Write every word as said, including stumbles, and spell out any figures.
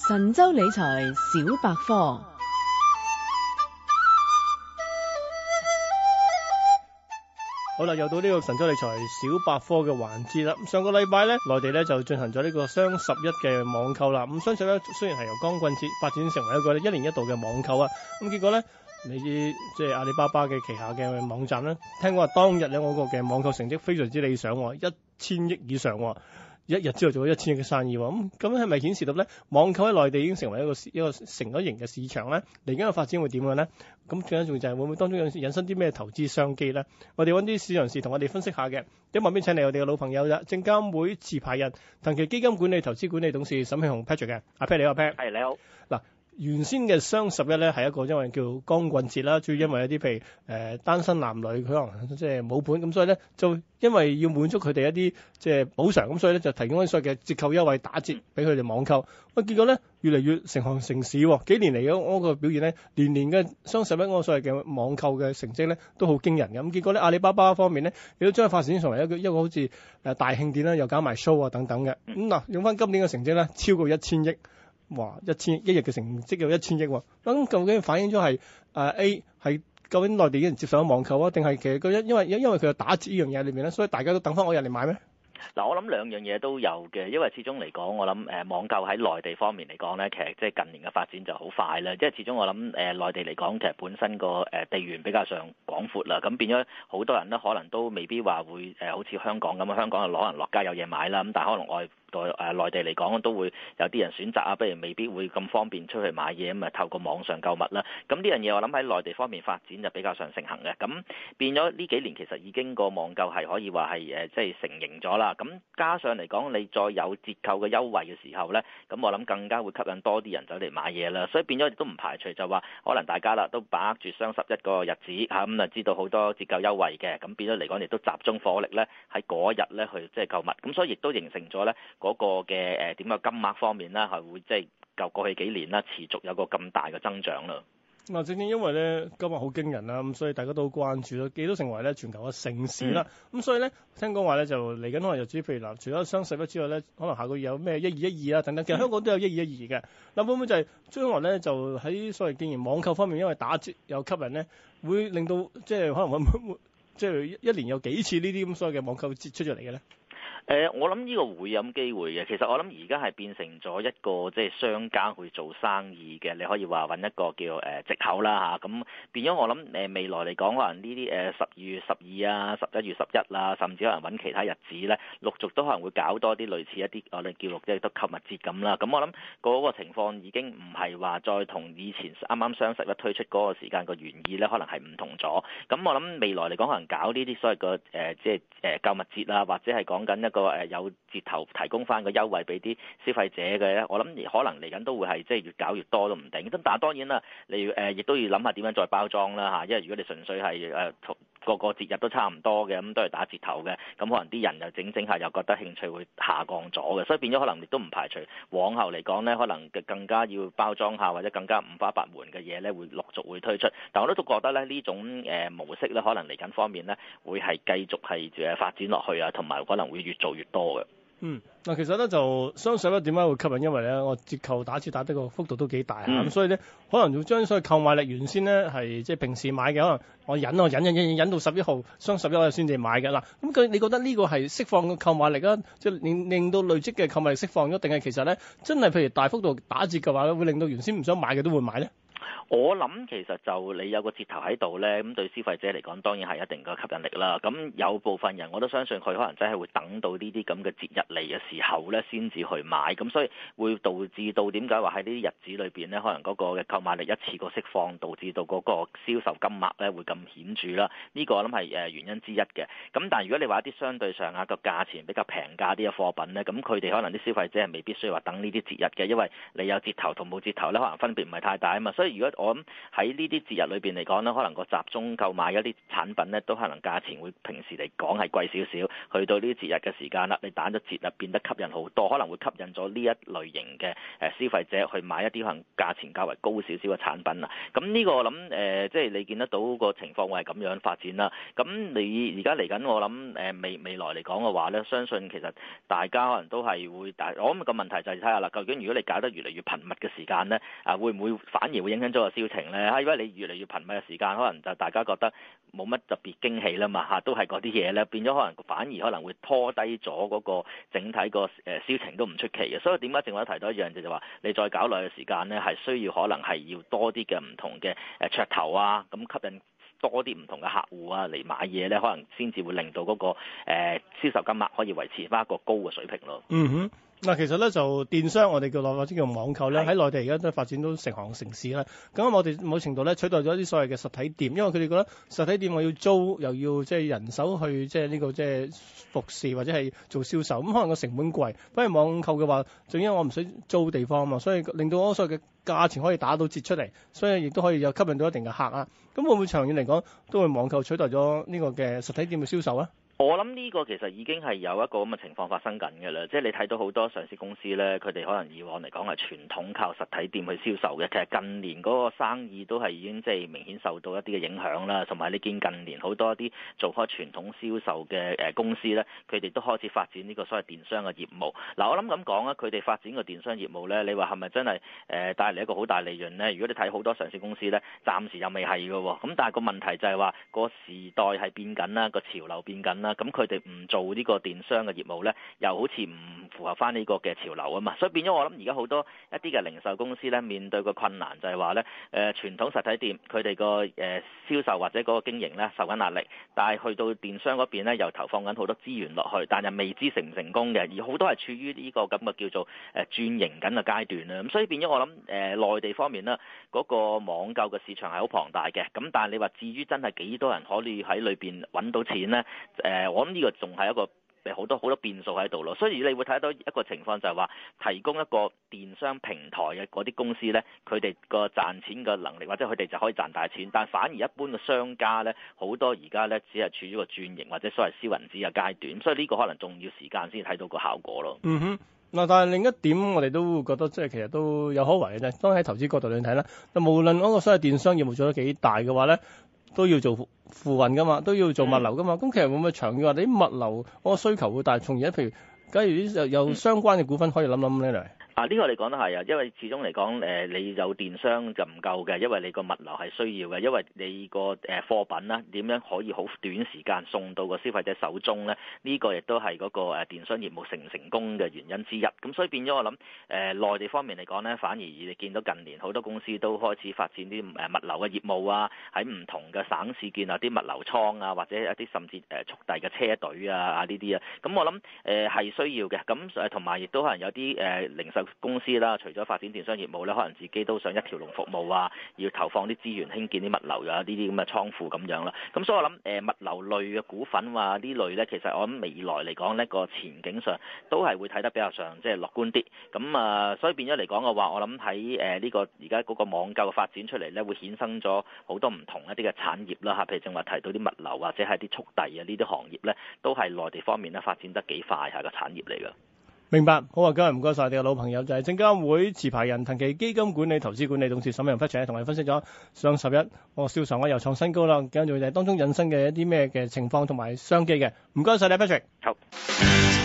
神州理財小百科。 好啦，又到呢個神州理財小百科嘅環節啦。咁上個禮拜咧，內地咧就進行咗呢個雙十一嘅網購啦。咁雙十一雖然係由光棍節發展成為一個一年一度嘅網購啊，咁結果咧，你知即係阿里巴巴嘅旗下嘅網站咧，聽講話當日咧我個嘅網購成績非常之理想，一千億以上。一日之後做咗一千億嘅生意喎，咁咁係咪顯示到咧網購喺內地已經成為一個一個成咗型嘅市場咧？嚟緊嘅發展會點樣咧？咁最緊要就係會唔會當中有引申啲咩投資商機咧？我哋揾啲市場人士同我哋分析下嘅。喺旁邊請嚟我哋嘅老朋友啦，證監會持牌人騰祺基金管理投資管理董事沈慶洪 Patrick 嘅。阿 Pat 你好 ，Pat。 係你好。 嗱。原先嘅雙十一咧係一個因為叫光棍節啦，主要因為一啲譬如誒、呃、單身男女佢可能即係冇盤，咁所以咧就因為要滿足佢哋一啲即係補償，咁所以咧就提供一啲所謂嘅折扣優惠打折俾佢哋網購。喂，結果咧越嚟越成行成市喎，幾年嚟嘅嗰個表現咧，年年嘅雙十一嗰個所謂嘅網購嘅成績咧都好驚人嘅。咁結果咧阿里巴巴方面咧亦都將發展成為一個一個好似誒大慶典啦，又搞埋 show 啊等等嘅。咁嗱用翻今年嘅成績咧超過一千億。哇！一千一日嘅成績有一千億喎，咁究竟反映咗係誒 A 係究竟內地已經接受咗網購啊，定係其實佢因因為因為佢有打折呢樣嘢裏面咧，所以大家都等翻我入嚟買咩？ 嗱，我諗兩樣嘢都有嘅，因為始終嚟講，我諗誒網購喺內地方面嚟講咧，其實即係近年嘅發展就好快啦。即係始終我諗誒內地嚟講，其實本身個誒地緣比較上廣闊啦，咁變咗好多人咧，可能都未必話會誒好似香港咁啊，香港就攞人落街有嘢買啦。咁但係可能外在誒內地嚟講，都會有啲人選擇啊，不如未必會咁方便出去買嘢，咁啊透過網上購物啦。咁呢樣嘢我諗喺內地方面發展就比較上盛行嘅。咁變咗呢幾年其實已經個網購係可以話係誒即係成型咗啦。咁加上嚟講，你再有折扣嘅優惠嘅時候咧，咁我諗更加會吸引多啲人走嚟買嘢啦。所以變咗亦都唔排除就話，可能大家啦都把握住雙十一個日子嚇，咁啊知道好多折扣優惠嘅，咁變咗嚟講亦都集中火力咧喺嗰一日咧去即係購物。咁所以亦都形成咗咧嗰個嘅誒點嘅金額方面啦，係會即係舊過去幾年啦持續有個咁大嘅增長啦。 嗱，正正因為咧今日好驚人啦，咁所以大家都好關注咯，亦都成為咧全球嘅盛事啦。咁、嗯、所以咧聽講話咧就嚟緊可能日子，譬如嗱，除咗雙十一之外咧，可能下個月有咩一二一二啊等等，其實香港都有一二一二嘅。嗱，會唔會就係將來咧就喺所謂既然網購方面，因為打折有吸引咧，會令到即係可能會會即係一年有幾次呢啲咁所謂嘅網購節出咗嚟嘅咧？ 誒、呃，我諗呢個會有機會嘅。其實我諗而家係變成咗一個即係商家去做生意嘅，你可以話揾一個叫誒藉口啦嚇。咁、啊、變咗我諗誒未來嚟講，可能呢啲誒十二月十二啊、十一月十一啊，甚至可能揾其他日子咧，陸續都可能會搞多啲類似一啲我哋叫做即係都購物節咁啦。咁我諗嗰個情況已經唔係話再同以前啱啱雙十一推出嗰個時間個原意咧，可能係唔同咗。咁我諗未來嚟講，可能搞呢啲所謂個誒即係誒購物節啊，或者係講緊一個誒有折頭提供翻個優惠俾啲消費者嘅咧，我諗可能嚟緊都會係即係越搞越多都唔定。咁但係當然啦，你誒亦都要諗下點樣再包裝啦嚇，因為如果你純粹係誒同個個節日都差唔多嘅，咁都係打折頭嘅，咁可能啲人又整整下又覺得興趣會下降咗嘅，所以變咗可能亦都唔排除往後嚟講咧，可能更加要包裝下或者更加五花八門嘅嘢咧，會陸續會推出。但我都覺得咧呢種誒模式咧，可能嚟緊方面咧會係繼續係誒發展落去啊，同埋可能會越做越多嘅。 嗯，嗱，其實咧就雙十一點解會吸引？因為咧我折扣打折打得個幅度都幾大嚇，咁、嗯、所以咧可能要將所謂購買力原先咧係即係平時買嘅，可能我忍我忍忍忍忍到十一號雙十一我先至買嘅。嗱，咁佢你覺得呢個係釋放個購買力啊，即係令令到累積嘅購買力釋放咗，定係其實咧真係譬如大幅度打折嘅話，會令到原先唔想買嘅都會買咧？ 我諗其實就你有個折頭喺度咧，咁對消費者嚟講當然係一定嘅吸引力啦。咁有部分人我都相信佢可能真係會等到呢啲咁嘅節日嚟嘅時候咧，先至去買。咁所以會導致到點解話喺呢啲日子裏邊咧，可能嗰個嘅購買力一次過釋放，導致到嗰個銷售金額咧會咁顯著啦。呢個我諗係誒原因之一嘅。咁但係如果你話一啲相對上啊個價錢比較平價啲嘅貨品咧，咁佢哋可能啲消費者係未必需要話等呢啲節日嘅，因為你有折頭同冇折頭咧，可能分別唔係太大啊嘛。所以以如果我諗喺呢啲節日裏邊嚟講咧，可能個集中購買一啲產品咧，都可能價錢會平時嚟講係貴少少，去到呢啲節日嘅時間啦，你打咗折啊，變得吸引好多，可能會吸引咗呢一類型嘅誒消費者去買一啲可能價錢較為高少少嘅產品啊。咁呢個我諗誒、呃，即係你見得到個情況會係咁樣發展啦。咁你而家嚟緊，我諗誒未未來嚟講嘅話咧，相信其實大家可能都係會大，我諗個問題就係睇下啦，究竟如果你搞得越嚟越頻密嘅時間咧，啊會唔會反而會影響咗個銷情咧？因為你越嚟越頻密嘅時間，可能就大家覺得冇乜特別驚喜啦嘛嚇，都係嗰啲嘢咧，變咗可能反而可能會拖低咗嗰個整體個誒銷情都唔出奇嘅。所以點解正話提到一樣就係話，你再搞耐嘅時間咧，係需要可能係要多啲嘅唔同嘅誒噱頭啊，咁吸引多啲唔同嘅客戶啊嚟買嘢咧，可能先至會令到嗰、那個誒、呃、銷售金額可以維持翻一個高嘅水平咯。 嗯哼。嗱，其實咧就電商，我哋叫內或者叫網購咧，喺內地而家都發展到成行成市啦。咁我哋某程度咧取代咗啲所謂嘅實體店，因為佢哋覺得實體店我要租，又要即係人手去即係呢個即係服侍或者係做銷售，咁可能個成本貴。不如網購嘅話，正因為我唔使租地方啊嘛，所以令到我所謂嘅價錢可以打到折出嚟，所以亦都可以有吸引到一定嘅客啊。咁會唔會長遠嚟講都會網購取代咗呢個嘅實體店嘅銷售啊？ 我諗呢個其實已經係有一個咁嘅情況發生緊嘅啦，即係你睇到好多上市公司咧，佢哋可能以往嚟講係傳統靠實體店去銷售嘅，其實近年嗰個生意都係已經即係明顯受到一啲嘅影響啦，同埋你見近年好多一啲做開傳統銷售嘅誒公司咧，佢哋都開始發展呢個所謂電商嘅業務。嗱，我諗咁講啊，佢哋發展個電商業務咧，你話係咪真係誒帶嚟一個好大利潤咧？如果你睇好多上市公司咧，暫時又未係嘅喎。咁但係個問題就係話個時代係變緊啦，個潮流變緊啦，咁佢哋唔做呢個電商嘅業務咧，又好似唔符合翻呢個嘅潮流啊嘛，所以變咗我諗而家好多一啲嘅零售公司咧，面對個困難就係話咧，誒、呃、傳統實體店佢哋個誒銷售或者嗰個經營咧受緊壓力，但係去到電商嗰邊咧又投放緊好多資源落去，但係未知成唔成功嘅，而好多係處於呢個咁嘅叫做誒轉型緊嘅階段啦。咁所以變咗我諗誒、呃、內地方面咧，嗰、那個網購嘅市場係好龐大嘅，咁但係你話至於真係幾多人可以喺裏邊揾到錢咧？誒、呃、我諗呢個仲係一個好多好多變數喺度咯，所以你會睇到一個情況就係話，提供一個電商平台嘅嗰啲公司咧，佢哋個賺錢嘅能力或者佢哋就可以賺大錢，但反而一般嘅商家咧，好多而家咧只係處於個轉型或者所謂燒銀紙嘅階段，所以呢個可能仲要時間先睇到個效果咯。 嗯哼，嗱，但係另一點我哋都會覺得即係其實都有可為嘅啫。當喺投資角度嚟睇啦，無論嗰個所謂電商業務做得幾大嘅話咧，都要做付運噶嘛，都要做物流噶嘛。咁、嗯、其實會唔會長遠話你啲物流嗰個需求會大？從而譬如假如啲有相關嘅股份可以諗諗呢嚟。 啊，呢、這個你講得係啊，因為始終嚟講，誒、呃、你有電商就唔夠嘅，因為你個物流係需要嘅，因為你個誒貨品啦點樣可以好短時間送到個消費者手中咧？呢、這個亦都係嗰個誒電商業務成唔成功嘅原因之一。咁所以變咗我諗，誒、呃、內地方面嚟講咧，反而你見到近年好多公司都開始發展啲誒物流嘅業務啊，喺唔同嘅省市建立啲物流倉啊，或者一啲甚至誒速遞嘅車隊啊啊呢啲啊。咁我諗誒係需要嘅。咁誒同埋亦都可能有啲誒、呃、零售公司啦，除咗發展電商業務咧，可能自己都想一條龍服務啊，要投放啲資源興建啲物流啊，呢啲咁嘅倉庫咁樣啦。咁所以我諗誒、呃、物流類嘅股份話呢類咧，其實我諗未來嚟講呢個前景上都係會睇得比較上即係樂觀啲。咁啊、呃，所以變咗嚟講嘅話，我諗喺誒呢個而家嗰個網購嘅發展出嚟咧，會衍生咗好多唔同一啲嘅產業啦嚇，譬如正話提到啲物流或者係啲速遞啊呢啲行業咧，都係內地方面咧發展得幾快下嘅產業嚟㗎。 明白，好啊，今日唔該晒我哋嘅老朋友，就係證監會持牌人騰祺基金管理投資管理董事沈慶洪同我哋分析咗上十一個銷售額又創新高啦，跟住就係當中引申嘅一啲咩嘅情況同埋商機嘅，唔該晒你 Patrick。 好。